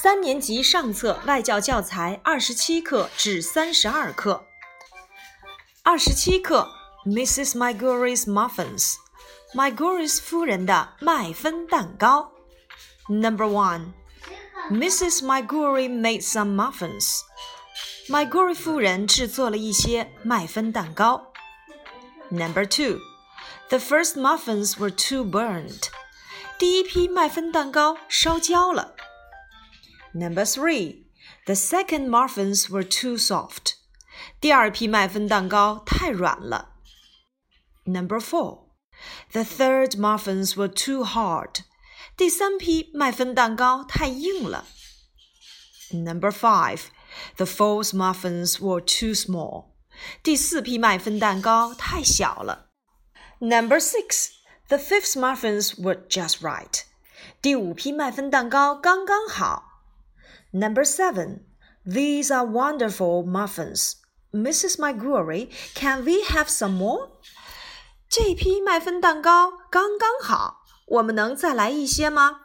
3年级上册外教教材27课至32课。27课 Mrs. McGorry's Muffins McGorry's 夫人的麦芬蛋糕。 Number 1 Mrs. McGorry made some muffins. McGorry 夫人制作了一些麦芬蛋糕。 Number 2 The first muffins were too burned. 第一批麦芬蛋糕烧焦了。Number 3 The second muffins were too soft. 第二批麦芬蛋糕太软了。Number 4 The third muffins were too hard. 第三批麦芬蛋糕太硬了。Number 5 The fourth muffins were too small. 第四批麦芬蛋糕太小了。Number 6 The fifth muffins were just right. 第五批麦芬蛋糕刚刚好。Number 7 These are wonderful muffins. Mrs. McGorry, can we have some more? 这批麦芬蛋糕刚刚好，我们能再来一些吗？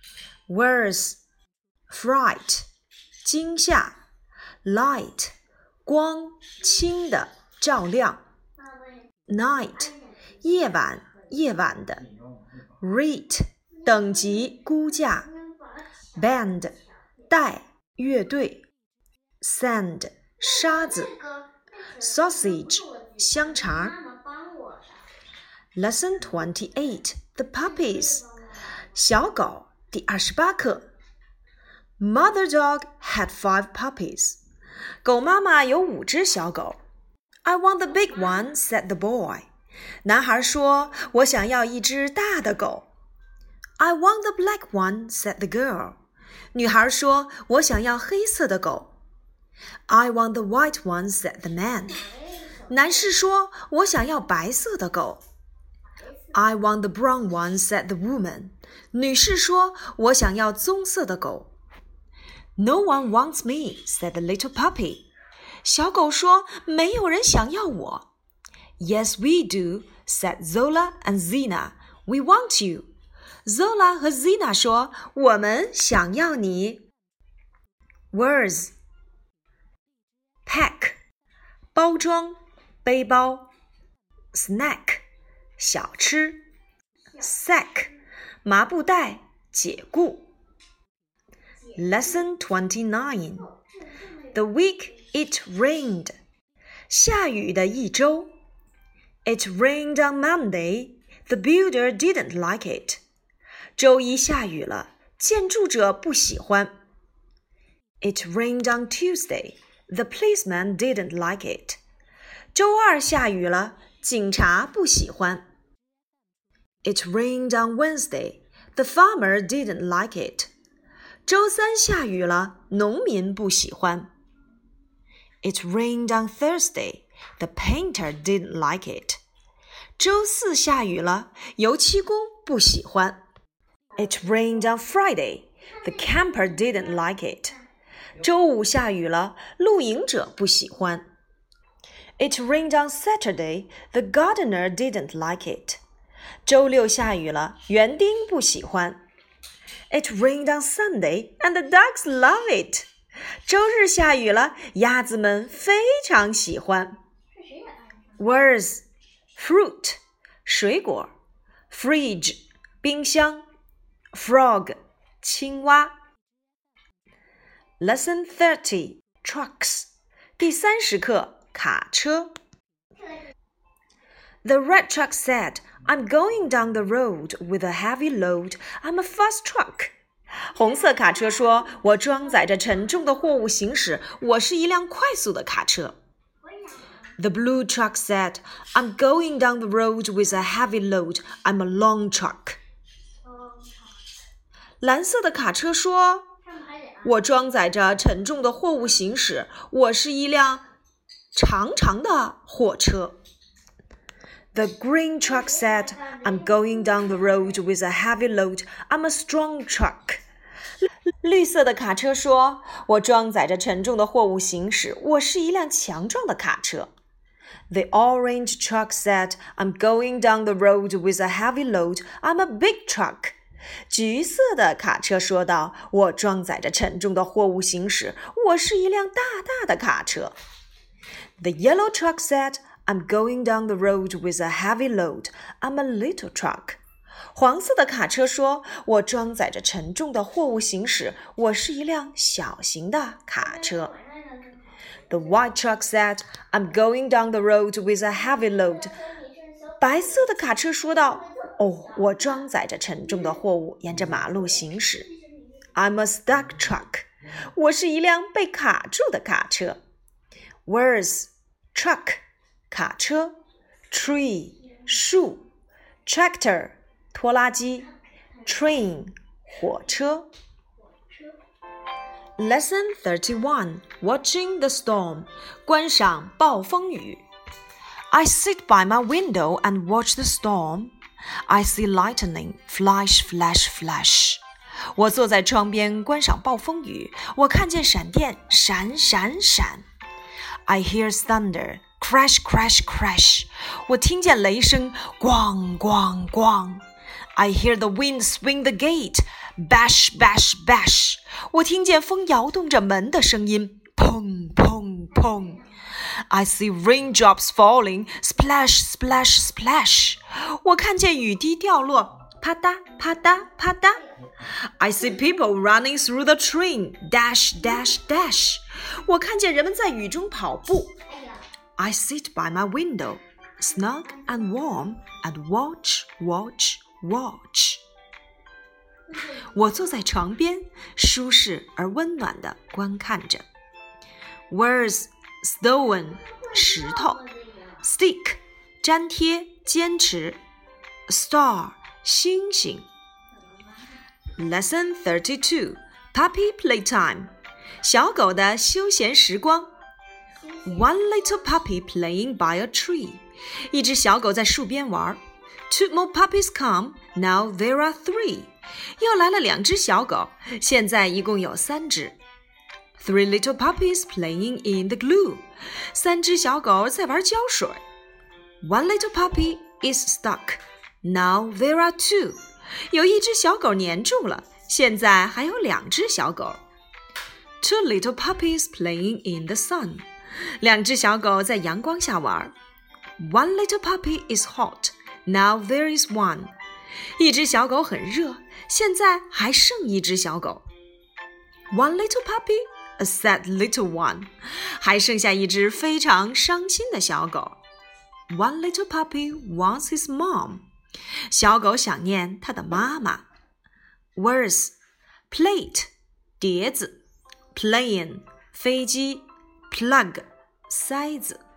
Words Fright 惊吓 Light 光轻的照亮 Night 夜晚的 Rate 等级估价 Band 带乐队 Sand 沙子 Sausage 香肠。Lesson 28 The Puppies 小狗第28课。 Mother dog had 5 puppies. 狗妈妈有5只小狗。 I want the big one, said the boy. 男孩说，我想要一只大的狗。 I want the black one, said the girl. 女孩说，我想要黑色的狗。 I want the white one, said the man. 男士说，我想要白色的狗。 I want the brown one, said the woman. 女士说，我想要棕色的狗。 No one wants me, said the little puppy. 小狗说，没有人想要我。 Yes, we do, said Zola and Zena. We want you. Zola 和 Zena 说，我们想要你。 Words Pack 包装背包 Snack 小吃 Sack 麻布袋解雇。 Lesson 29 The week it rained 下雨的一周。 It rained on Monday. The builder didn't like it. 周一下雨了，建筑者不喜欢。 It rained on Tuesday. The policeman didn't like it. 周二下雨了，警察不喜欢。It rained on Wednesday. The farmer didn't like it. 周三下雨了，农民不喜欢。It rained on Thursday. The painter didn't like it. 周四下雨了，油漆工不喜欢。It rained on Friday. The camper didn't like it. 周五下雨了，露营者不喜欢。It rained on Saturday. The gardener didn't like it. 周六下雨了，园丁不喜欢。It rained on Sunday, and the ducks love it. 周日下雨了，鸭子们非常喜欢。Words Fruit 水果 Fridge 冰箱 Frog 青蛙。Lesson 30 Trucks 第30课卡车。 The red truck said, I'm going down the road with a heavy load. I'm a fast truck. 红色卡车说，我装载着沉重的货物行驶，我是一辆快速的卡车。The blue truck said, I'm going down the road with a heavy load. I'm a long truck. 蓝色的卡车说，我装载着沉重的货物行驶，我是一辆长长的货车。The green truck said, I'm going down the road with a heavy load. I'm a strong truck. 绿色的卡车说，我装载着沉重的货物行驶，我是一辆强壮的卡车。The orange truck said, I'm going down the road with a heavy load. I'm a big truck. 橘色的卡车说道，我装载着沉重的货物行驶，我是一辆大大的卡车。The yellow truck said, I'm going down the road with a heavy load. I'm a little truck. 黄色的卡车说，我装载着沉重的货物行驶，我是一辆小型的卡车。The white truck said, I'm going down the road with a heavy load. 白色的卡车说道，我装载着沉重的货物沿着马路行驶。I'm a stuck truck. 我是一辆被卡住的卡车。Words: truck 卡车 tree 树 tractor 拖拉机 train 火车。Lesson 31 Watching the storm 观赏暴风雨。I sit by my window and watch the storm. I see lightning flash flash flash. 我坐在窗边观赏暴风雨，我看见闪电闪闪闪。I hear thunder crash crash crash. 我听见雷声咣咣咣。I hear the wind swing the gate bash bash bash. 我听见风摇动着门的声音砰砰砰。I see raindrops falling splash splash splash. 我看见雨滴掉落啪嗒啪嗒啪嗒。I see people running through the train dash dash dash. 我看见人们在雨中跑步。I sit by my window, snug and warm, and watch, watch, watch. 我坐在床边，舒适而温暖地观看着。Words: stone 石头 stick 粘贴坚持 star 星星。Lesson 32 Puppy Playtime 小狗的休闲时光。One little puppy playing by a tree. 一只小狗在树边玩。Two more puppies come. Now there are 3. 又来了2只小狗，现在一共有3只。Three little puppies playing in the glue. 3只小狗在玩胶水。One little puppy is stuck. Now there are 2. 有1只小狗粘住了，现在还有2只小狗。Two little puppies playing in the sun. 2只小狗在阳光下玩。One little puppy is hot. Now there is 1. 1只小狗很热，现在还剩1只小狗。One little puppy, a sad little one. 还剩下1只非常伤心的小狗。One little puppy wants his mom. 小狗想念它的妈妈。Words: plate 碟子 plane 飞机 plug 塞子。